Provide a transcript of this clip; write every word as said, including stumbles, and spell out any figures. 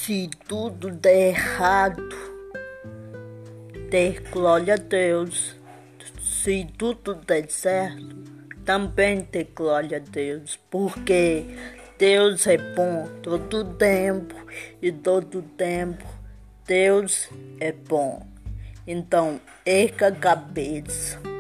Se tudo der errado, dê glória a Deus. Se tudo der certo, também dê glória a Deus, porque Deus é bom todo tempo e todo tempo Deus é bom. Então, erga a cabeça.